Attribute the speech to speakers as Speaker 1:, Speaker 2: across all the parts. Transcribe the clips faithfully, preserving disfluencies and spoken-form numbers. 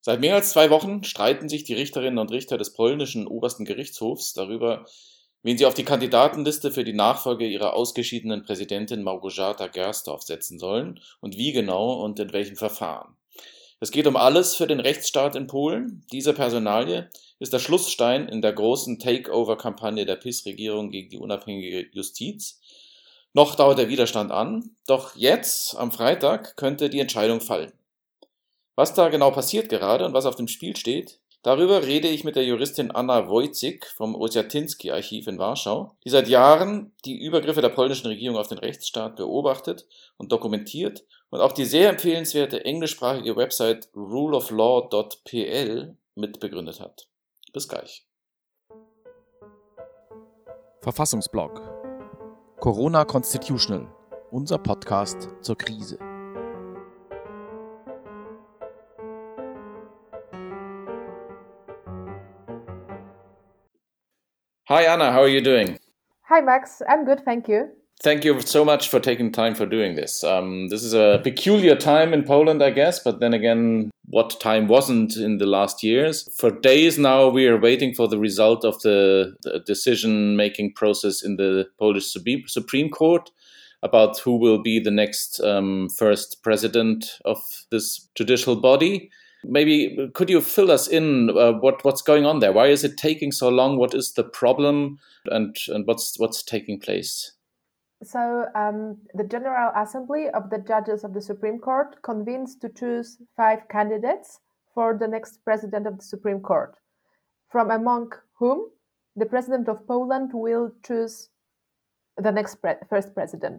Speaker 1: Seit mehr als zwei Wochen streiten sich die Richterinnen und Richter des polnischen Obersten Gerichtshofs darüber, wen sie auf die Kandidatenliste für die Nachfolge ihrer ausgeschiedenen Präsidentin Małgorzata Gersdorf setzen sollen und wie genau und in welchem Verfahren. Es geht um alles für den Rechtsstaat in Polen. Diese Personalie ist der Schlussstein in der großen Takeover-Kampagne der P I S-Regierung gegen die unabhängige Justiz. Noch dauert der Widerstand an, doch jetzt, am Freitag, könnte die Entscheidung fallen. Was da genau passiert gerade und was auf dem Spiel steht, darüber rede ich mit der Juristin Anna Wojcik vom Osiatyński-Archiv in Warschau, die seit Jahren die Übergriffe der polnischen Regierung auf den Rechtsstaat beobachtet und dokumentiert und auch die sehr empfehlenswerte englischsprachige Website rule of law dot p l mitbegründet hat. Bis gleich.
Speaker 2: Verfassungsblog Corona Constitutional, unser Podcast zur Krise.
Speaker 1: Hi Anna, how are you doing?
Speaker 3: Hi Max, I'm good, thank you.
Speaker 1: Thank you so much for taking time for doing this. Um, this is a peculiar time in Poland, I guess, but then again, what time wasn't in the last years? For days now, we are waiting for the result of the, the decision-making process in the Polish Supreme Court about who will be the next um, first president of this judicial body. Maybe could you fill us in uh, what what's going on there? Why is it taking so long? What is the problem, and and what's what's taking place?
Speaker 3: So um, the General Assembly of the Judges of the Supreme Court convenes to choose five candidates for the next president of the Supreme Court, from among whom the President of Poland will choose the next pre- first president.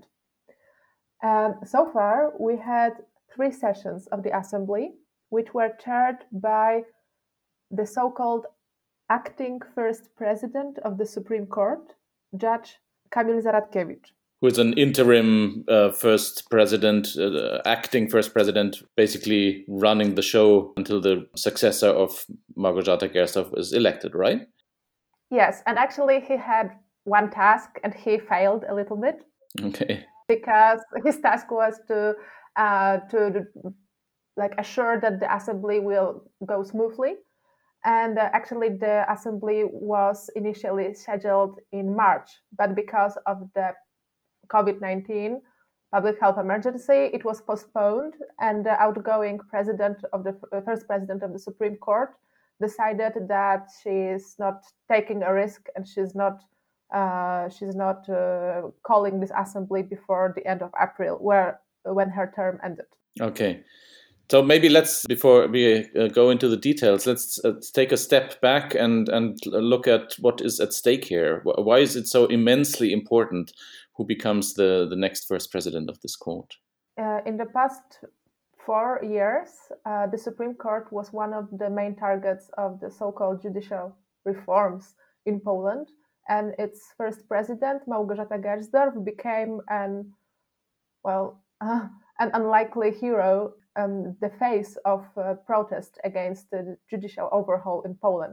Speaker 3: Um, so far, we had three sessions of the Assembly, which were chaired by the so-called acting first president of the Supreme Court, Judge Kamil Zaradkiewicz.
Speaker 1: Who is an interim uh, first president, uh, acting first president, basically running the show until the successor of Małgorzata Gersdorf is elected, right?
Speaker 3: Yes, and actually he had one task and he failed a little bit.
Speaker 1: Okay.
Speaker 3: Because his task was to uh, to like assure that the assembly will go smoothly. And uh, actually the assembly was initially scheduled in March, but because of the covid nineteen public health emergency, it was postponed, and the outgoing president of the uh, first president of the Supreme Court decided that she is not taking a risk and she's not uh, she's not uh, calling this assembly before the end of April, where when her term ended.
Speaker 1: Okay. So maybe let's, before we uh, go into the details, let's, uh, take a step back and, and look at what is at stake here. Why is it so immensely important who becomes the, the next first president of this court?
Speaker 3: Uh, in the past four years, uh, the Supreme Court was one of the main targets of the so-called judicial reforms in Poland, and its first president, Małgorzata Gersdorf, became an, well, uh, an unlikely hero, um, the face of uh, protest against the judicial overhaul in Poland.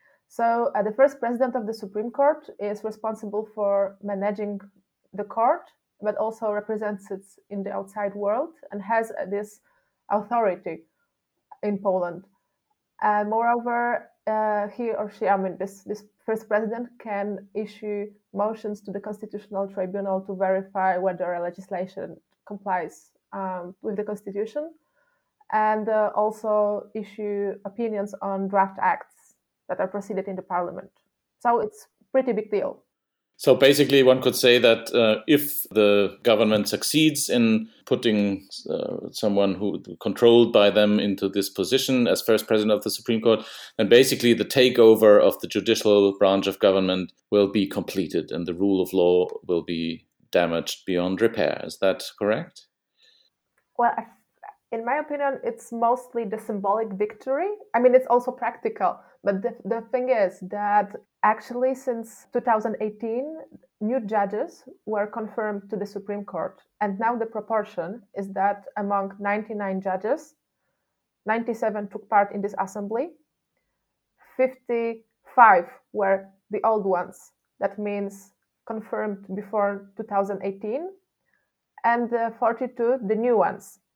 Speaker 3: So uh, the first president of the Supreme Court is responsible for managing the court, but also represents it in the outside world and has uh, this authority in Poland. Uh, moreover, uh, he or she, I mean, this, this first president can issue motions to the Constitutional Tribunal to verify whether a legislation complies um, with the Constitution, and uh, also issue opinions on draft acts that are proceeded in the Parliament. So it's a pretty big deal.
Speaker 1: So basically, one could say that uh, if the government succeeds in putting uh, someone who controlled by them into this position as first president of the Supreme Court, then basically the takeover of the judicial branch of government will be completed and the rule of law will be damaged beyond repair. Is that correct?
Speaker 3: Well, in my opinion, it's mostly the symbolic victory. I mean, it's also practical. But the, the thing is that actually since two thousand eighteen, new judges were confirmed to the Supreme Court. And now the proportion is that among ninety-nine judges, ninety-seven took part in this assembly, fifty-five were the old ones. That means confirmed before two thousand eighteen, and uh, forty-two the new ones.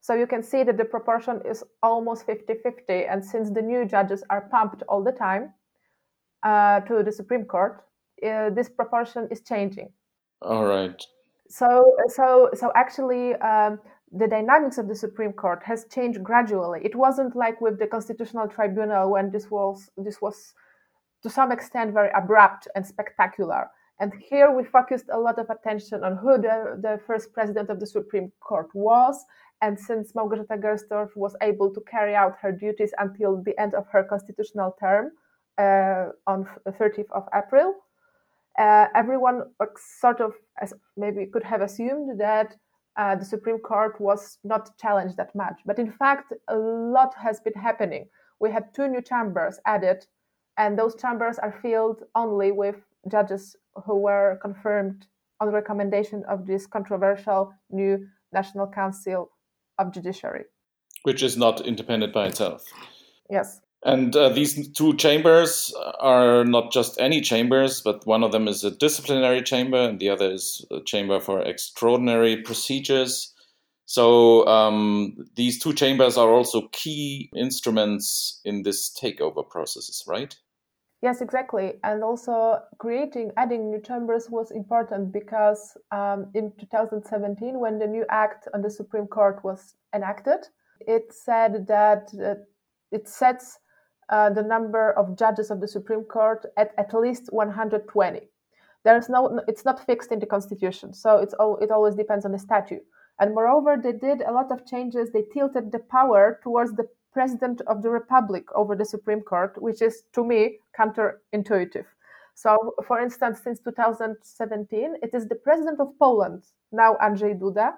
Speaker 3: So you can see that the proportion is almost fifty-fifty. And since the new judges are pumped all the time uh, to the Supreme Court, uh, this proportion is changing.
Speaker 1: All right.
Speaker 3: So, so, so actually, um, the dynamics of the Supreme Court has changed gradually. It wasn't like with the Constitutional Tribunal when this was this was to some extent very abrupt and spectacular. And here we focused a lot of attention on who the, the first president of the Supreme Court was. And since Małgorzata Gersdorf was able to carry out her duties until the end of her constitutional term uh, on thirtieth of April, uh, everyone sort of as maybe could have assumed that uh, the Supreme Court was not challenged that much. But in fact, a lot has been happening. We had two new chambers added, and those chambers are filled only with judges who were confirmed on recommendation of this controversial new National Council of Judiciary.
Speaker 1: Which is not independent by itself.
Speaker 3: Yes.
Speaker 1: And uh, these two chambers are not just any chambers, but one of them is a disciplinary chamber and the other is a chamber for extraordinary procedures. So um, these two chambers are also key instruments in this takeover processes, right?
Speaker 3: Yes, exactly. And also creating, adding new chambers was important because um, in two thousand seventeen, when the new act on the Supreme Court was enacted, it said that uh, it sets uh, the number of judges of the Supreme Court at at least one hundred twenty. There is no, it's not fixed in the Constitution, so it's all, it always depends on the statute. And moreover, they did a lot of changes. They tilted the power towards the President of the Republic over the Supreme Court, which is, to me, counterintuitive. So, for instance, since two thousand seventeen, it is the President of Poland, now Andrzej Duda,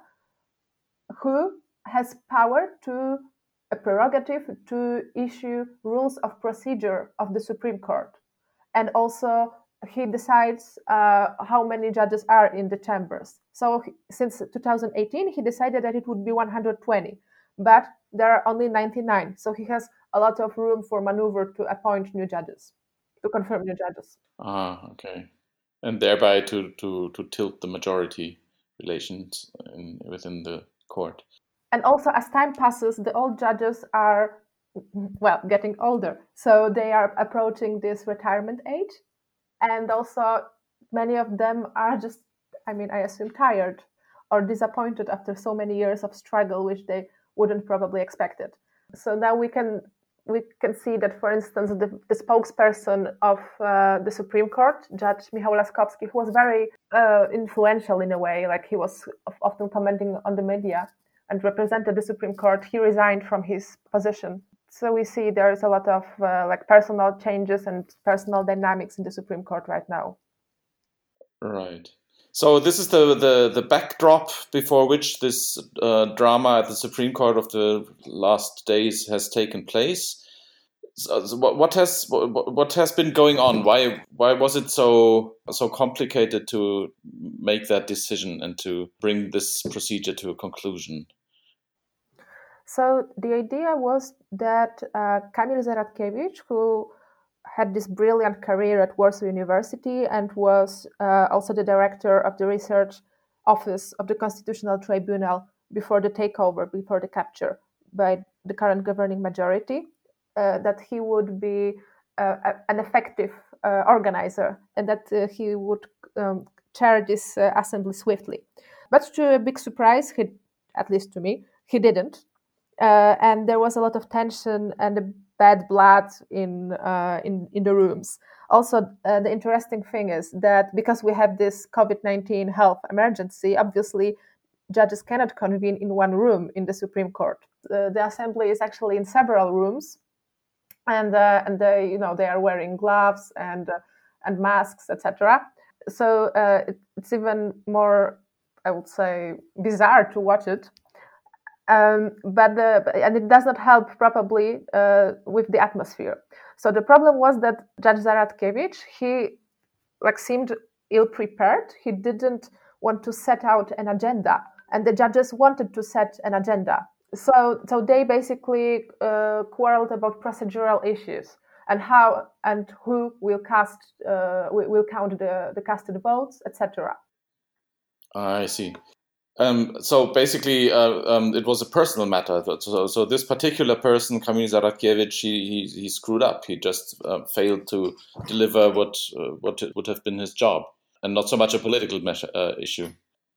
Speaker 3: who has power to, a prerogative to issue rules of procedure of the Supreme Court. And also, he decides uh, how many judges are in the chambers. So since two thousand eighteen, he decided that it would be one hundred twenty, but there are only ninety-nine. So he has a lot of room for maneuver to appoint new judges, to confirm new judges.
Speaker 1: Ah, okay. And thereby to, to, to tilt the majority relations in, within the court.
Speaker 3: And also, as time passes, the old judges are, well, getting older. So they are approaching this retirement age. And also, many of them are just, I mean, I assume tired or disappointed after so many years of struggle, which they wouldn't probably expect it. So now we can we can see that, for instance, the, the spokesperson of uh, the Supreme Court, Judge Michał Laskowski, who was very uh, influential in a way, like he was often commenting on the media and represented the Supreme Court, he resigned from his position. So we see there is a lot of uh, like personal changes and personal dynamics in the Supreme Court right now.
Speaker 1: Right. So this is the, the, the backdrop before which this uh, drama at the Supreme Court of the last days has taken place. So, so what, what has what, what has been going on? Why why was it so so complicated to make that decision and to bring this procedure to a conclusion?
Speaker 3: So the idea was that uh, Kamil Zaradkiewicz, who had this brilliant career at Warsaw University and was uh, also the director of the research office of the Constitutional Tribunal before the takeover, before the capture by the current governing majority, uh, that he would be uh, an effective uh, organizer and that uh, he would um, chair this uh, assembly swiftly. But to a big surprise, he, at least to me, he didn't. Uh, and there was a lot of tension and a bad blood in uh, in in the rooms. Also, uh, the interesting thing is that because we have this COVID nineteen health emergency, obviously judges cannot convene in one room in the Supreme Court. Uh, the assembly is actually in several rooms, and uh, and they you know they are wearing gloves and uh, and masks, et cetera. So uh, it, it's even more, I would say, bizarre to watch it. Um, but the, and it does not help probably uh, with the atmosphere. So the problem was that Judge Zaradkiewicz, he like seemed ill-prepared. He didn't want to set out an agenda, and the judges wanted to set an agenda. So, so they basically uh, quarreled about procedural issues and how and who will cast, uh, will count the the casted votes, et cetera.
Speaker 1: I see. Um, so basically, uh, um, it was a personal matter. So, so this particular person, Kamil Zaradkiewicz, he, he he screwed up. He just uh, failed to deliver what uh, what would have been his job, and not so much a political measure, uh, issue.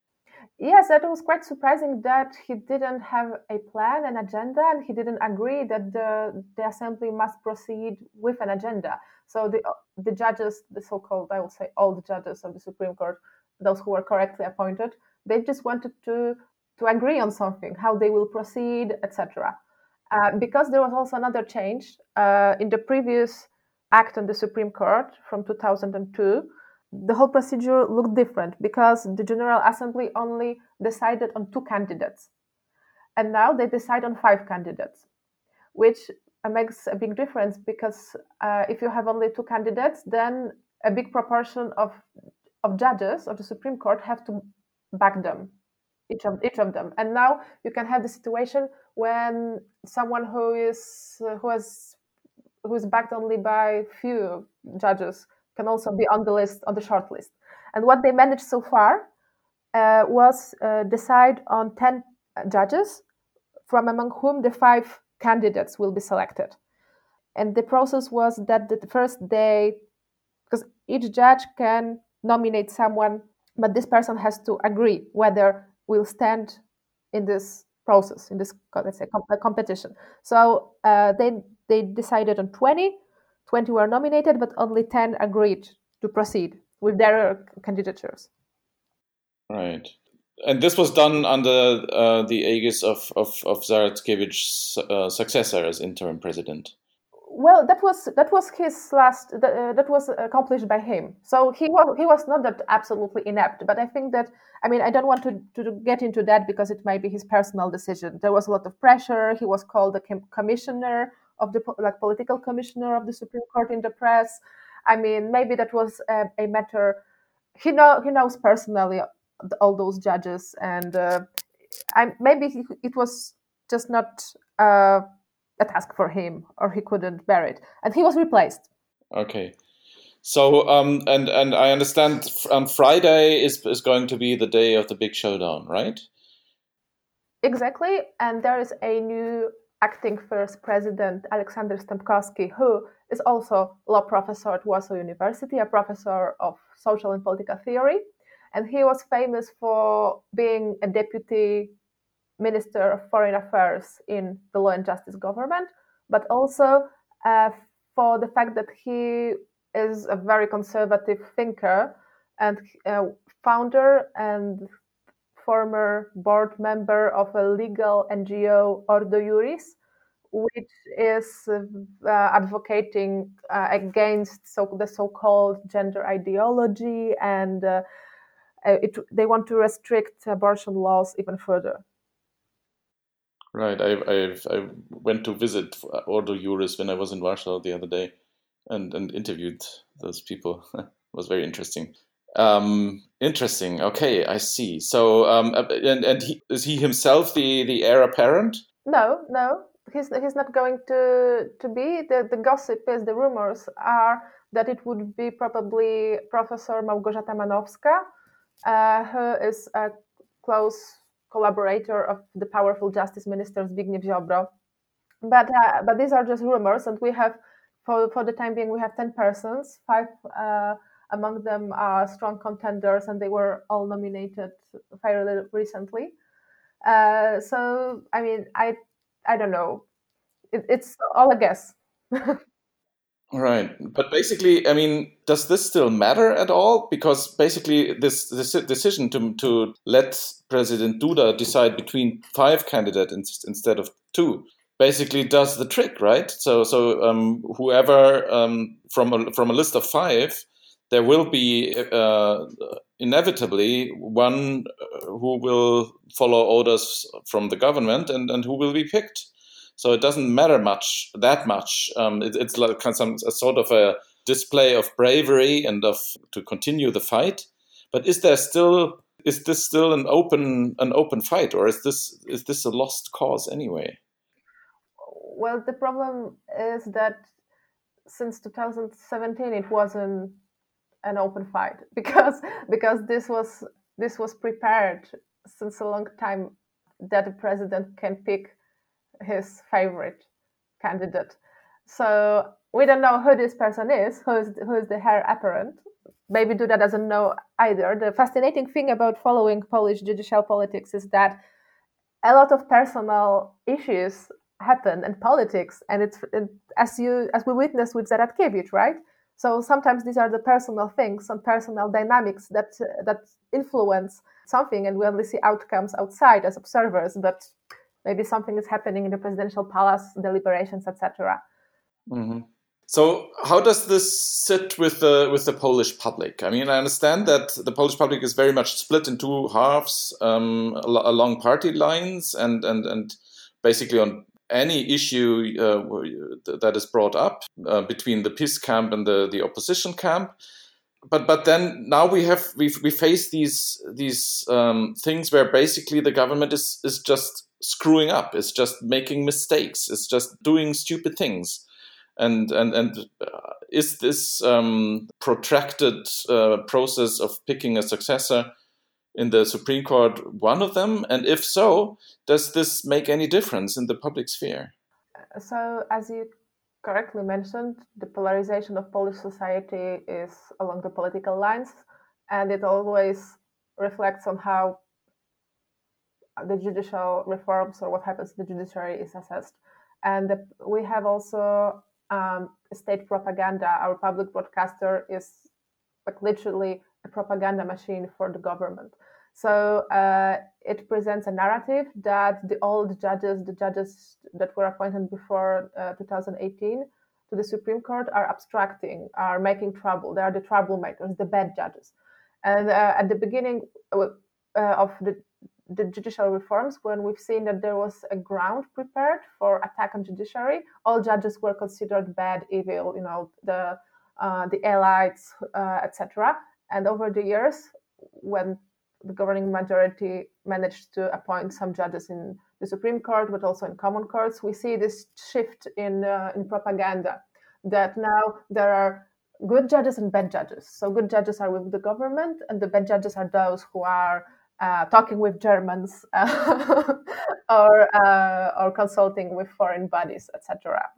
Speaker 3: Yes, that was quite surprising that he didn't have a plan, an agenda, and he didn't agree that the the assembly must proceed with an agenda. So the the judges, the so-called, I would say, all the judges of the Supreme Court, those who were correctly appointed, they just wanted to to agree on something, how they will proceed, et cetera. Uh, because there was also another change uh, in the previous act on the Supreme Court from two thousand two. The whole procedure looked different because the General Assembly only decided on two candidates. And now they decide on five candidates, which uh, makes a big difference because uh, if you have only two candidates, then a big proportion of, of judges of the Supreme Court have to back them, each of, each of them. And now you can have the situation when someone who is uh, who has who is backed only by few judges can also be on the list, on the short list. And what they managed so far uh, was uh, decide on ten judges, from among whom the five candidates will be selected. And the process was that the first day, because each judge can nominate someone, but this person has to agree whether will stand in this process, in this, let's say, competition. So uh, they they decided on twenty. twenty were nominated, but only ten agreed to proceed with their candidatures.
Speaker 1: Right. And this was done under uh, the aegis of, of, of Zaradkiewicz's uh, successor as interim president.
Speaker 3: Well, that was that was his last. Uh, that was accomplished by him. So he was he was not that absolutely inept. But I think that I mean I don't want to, to get into that because it might be his personal decision. There was a lot of pressure. He was called the commissioner of the like political commissioner of the Supreme Court in the press. I mean maybe that was a, a matter. He know he knows personally all those judges, and uh, I maybe it was just not. Uh, a task for him, or he couldn't bear it, and he was replaced.
Speaker 1: Okay, so um, and and I understand um, Friday is is going to be the day of the big showdown, right?
Speaker 3: Exactly, and there is a new acting first president, Aleksander Stępkowski, who is also law professor at Warsaw University, a professor of social and political theory, and he was famous for being a deputy Minister of Foreign Affairs in the Law and Justice government, but also uh, for the fact that he is a very conservative thinker and uh, founder and former board member of a legal N G O, Ordo Juris, which is uh, advocating uh, against so, the so-called gender ideology, and uh, it, they want to restrict abortion laws even further.
Speaker 1: Right. I I I went to visit Ordo Juris when I was in Warsaw the other day, and and interviewed those people. It was very interesting. Um, interesting. Okay, I see. So, um, and and he, is he himself the the heir apparent?
Speaker 3: No, no, he's he's not going to to be. The the gossip is, the rumors are that it would be probably Professor Małgorzata Manowska, uh, who is a close collaborator of the powerful Justice Minister Zbigniew Ziobro. But uh, but these are just rumors, and we have, for for the time being, we have ten persons. Five uh, among them are strong contenders, and they were all nominated fairly recently. Uh, so I mean, I I don't know. It, it's all a guess.
Speaker 1: Right. But basically, I mean, does this still matter at all? Because basically, this, this decision to, to let President Duda decide between five candidates in, instead of two basically does the trick, right? So, so um, whoever um, from a, from a list of five, there will be uh, inevitably one who will follow orders from the government and, and who will be picked. So it doesn't matter much, that much. Um, it, it's like some a sort of a display of bravery and of to continue the fight. But is there still is this still an open an open fight, or is this is this a lost cause anyway?
Speaker 3: Well, the problem is that since two thousand seventeen it wasn't an open fight because because this was this was prepared since a long time that the president can pick his favorite candidate. So we don't know who this person is, who is, who is the heir apparent. Maybe Duda doesn't know either. The fascinating thing about following Polish judicial politics is that a lot of personal issues happen in politics, and it's it, as you as we witnessed with Zaradkiewicz, right? So sometimes these are the personal things and personal dynamics that uh, that influence something, and we only see outcomes outside as observers, but maybe something is happening in the presidential palace, deliberations, et cetera.
Speaker 1: Mm-hmm. So how does this sit with the with the Polish public? I mean, I understand that the Polish public is very much split in two halves um, along party lines, and and and basically on any issue uh, that is brought up uh, between the PiS camp and the, the opposition camp. But but then now we have we we face these these um, things where basically the government is is just screwing up, it's just making mistakes, it's just doing stupid things. And and and uh, is this um, protracted uh, process of picking a successor in the Supreme Court one of them? And if so, does this make any difference in the public sphere?
Speaker 3: So, as you correctly mentioned, the polarization of Polish society is along the political lines, and it always reflects on how the judicial reforms or what happens to the judiciary is assessed. And the, we have also um, state propaganda. Our public broadcaster is like literally a propaganda machine for the government. So uh, it presents a narrative that the old judges, the judges that were appointed before uh, two thousand eighteen to the Supreme Court are abstracting, are making trouble. They are the troublemakers, the bad judges. And uh, at the beginning uh, of the, the judicial reforms, when we've seen that there was a ground prepared for attack on judiciary, all judges were considered bad, evil, you know, the uh, the elites, uh, et cetera. And over the years, when the governing majority managed to appoint some judges in the Supreme Court, but also in common courts, we see this shift in uh, in propaganda, that now there are good judges and bad judges. So good judges are with the government, and the bad judges are those who are uh, talking with Germans uh, or uh, or consulting with foreign bodies, et cetera.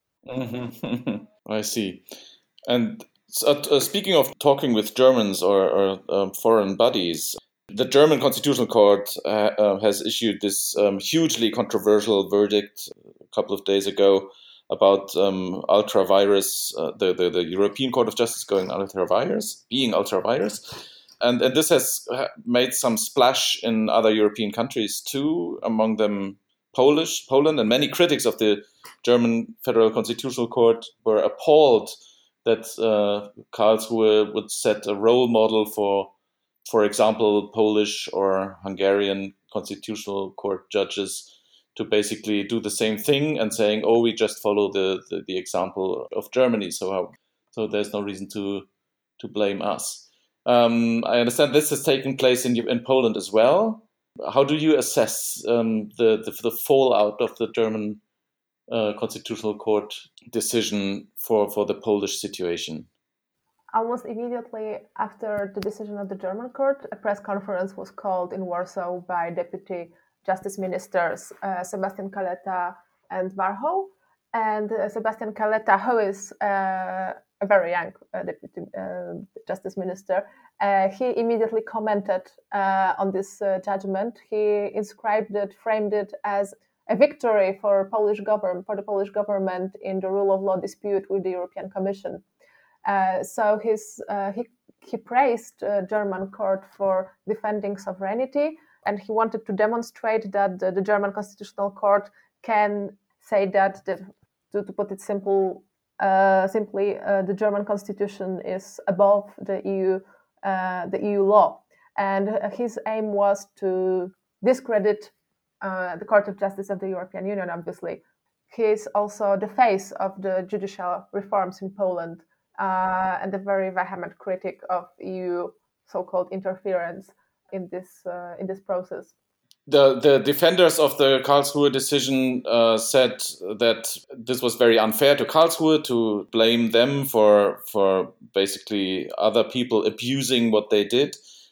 Speaker 1: Mm-hmm. I see. And so, uh, speaking of talking with Germans or, or um, foreign bodies, the German Constitutional Court uh, uh, has issued this um, hugely controversial verdict a couple of days ago about um, ultra vires, uh, the, the, the European Court of Justice going ultra vires, being ultra vires. And, and this has made some splash in other European countries too, among them Polish, Poland, and many critics of the German Federal Constitutional Court were appalled that uh, Karlsruhe would set a role model for, for example, Polish or Hungarian Constitutional Court judges to basically do the same thing and saying, oh, we just follow the, the, the example of Germany, so how, so there's no reason to to blame us. Um, I understand this has taken place in in Poland as well. How do you assess um, the, the the fallout of the German uh, Constitutional Court decision for, for the Polish situation?
Speaker 3: Almost immediately after the decision of the German court, a press conference was called in Warsaw by Deputy Justice Ministers uh, Sebastian Kaleta and Warchoł. And uh, Sebastian Kaleta, who is uh, a very young uh, Deputy uh, Justice Minister, uh, he immediately commented uh, on this uh, judgment. He inscribed it, framed it as a victory for Polish government, for the Polish government in the rule of law dispute with the European Commission. Uh, so his, uh, he, he praised uh, German court for defending sovereignty, and he wanted to demonstrate that the, the German Constitutional Court can say that, the, to, to put it simple, uh, simply, uh, the German Constitution is above the E U, uh, the E U law. And his aim was to discredit uh, the Court of Justice of the European Union, obviously. He is also the face of the judicial reforms in Poland. Uh, and a very vehement critic of E U so-called interference in this uh, in this process.
Speaker 1: The the defenders of the Karlsruhe decision uh, said that this was very unfair to Karlsruhe to blame them for for basically other people abusing what they did.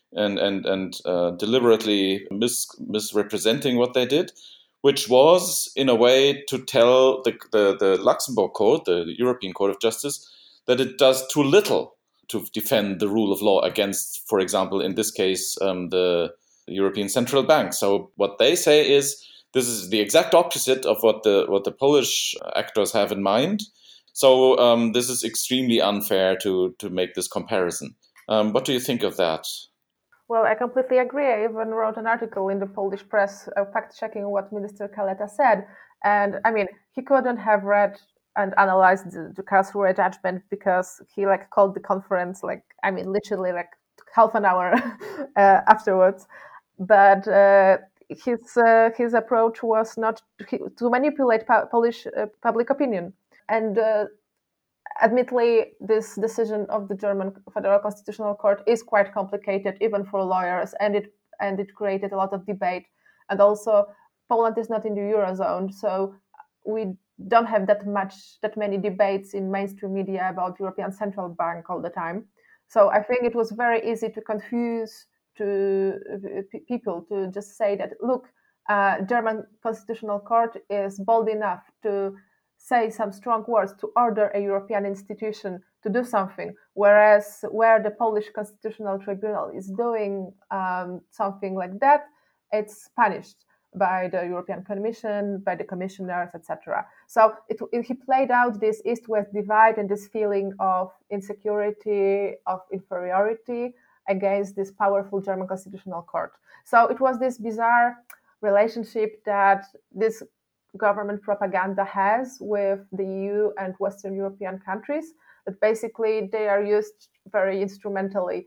Speaker 1: and and and uh, deliberately mis- misrepresenting what they did, which was in a way to tell the, the the Luxembourg Court, the European Court of Justice, that it does too little to defend the rule of law against, for example, in this case, um, the European Central Bank. So what they say is this is the exact opposite of what the what the Polish actors have in mind. So um, this is extremely unfair to to make this comparison. Um, what do you think of that?
Speaker 3: Well, I completely agree. I even wrote an article in the Polish press uh, fact-checking what Minister Kaleta said. And I mean, he couldn't have read and analyzed the, the Karlsruhe judgment because he like called the conference, like, I mean, literally like half an hour uh, afterwards. But uh, his uh, his approach was not to, to manipulate pa- Polish uh, public opinion. And uh, admittedly, this decision of the German Federal Constitutional Court is quite complicated, even for lawyers, and it and it created a lot of debate. And also, Poland is not in the Eurozone, so we don't have that much, that many debates in mainstream media about European Central Bank all the time. So I think it was very easy to confuse to uh, people to just say that, look, uh, German Constitutional Court is bold enough to say some strong words to order a European institution to do something, whereas where the Polish Constitutional Tribunal is doing um, something like that, it's punished by the European Commission, by the commissioners, et cetera. So it, it, he played out this East-West divide and this feeling of insecurity, of inferiority against this powerful German Constitutional Court. So it was this bizarre relationship that this government propaganda has with the E U and Western European countries, that basically they are used very instrumentally,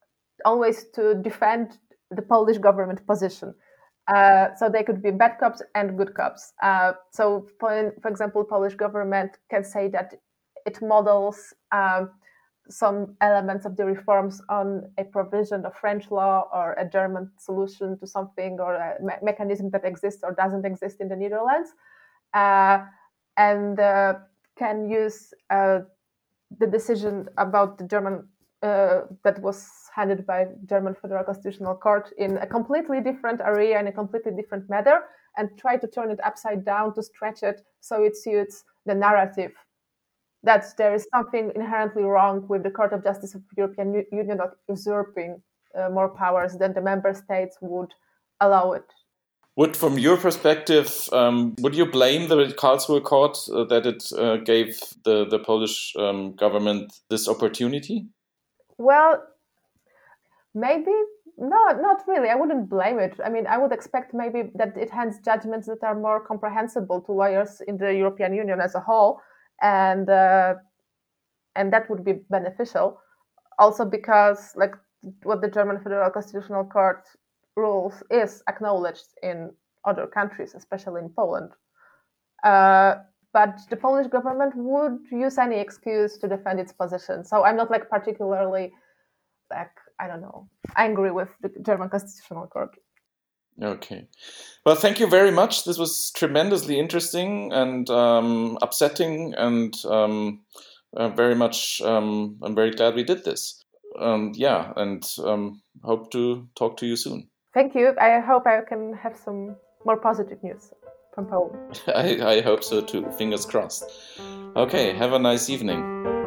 Speaker 3: always to defend the Polish government position. Uh, so they could be bad cops and good cops. Uh, so, for, for example, Polish government can say that it models um, some elements of the reforms on a provision of French law or a German solution to something, or a me- mechanism that exists or doesn't exist in the Netherlands, uh, and uh, can use uh, the decision about the German uh, that was handed by German Federal Constitutional Court in a completely different area, in a completely different matter, and try to turn it upside down to stretch it so it suits the narrative that there is something inherently wrong with the Court of Justice of the European Union not usurping uh, more powers than the member states would allow it.
Speaker 1: Would, from your perspective, um, would you blame the Karlsruhe Court uh, that it uh, gave the, the Polish um, government this opportunity?
Speaker 3: Well, maybe, no, not really. I wouldn't blame it. I mean, I would expect maybe that it hands judgments that are more comprehensible to lawyers in the European Union as a whole, and uh, and that would be beneficial. Also because, like, what the German Federal Constitutional Court rules is acknowledged in other countries, especially in Poland. Uh, but the Polish government would use any excuse to defend its position. So I'm not like particularly, like, I don't know, angry with the German Constitutional Court.
Speaker 1: Okay. Well, thank you very much. This was tremendously interesting and um, upsetting, and um, uh, very much, um, I'm very glad we did this. Um, yeah, and um, hope to talk to you soon.
Speaker 3: Thank you. I hope I can have some more positive news from Poland.
Speaker 1: I, I hope so too. Fingers crossed. Okay, have a nice evening.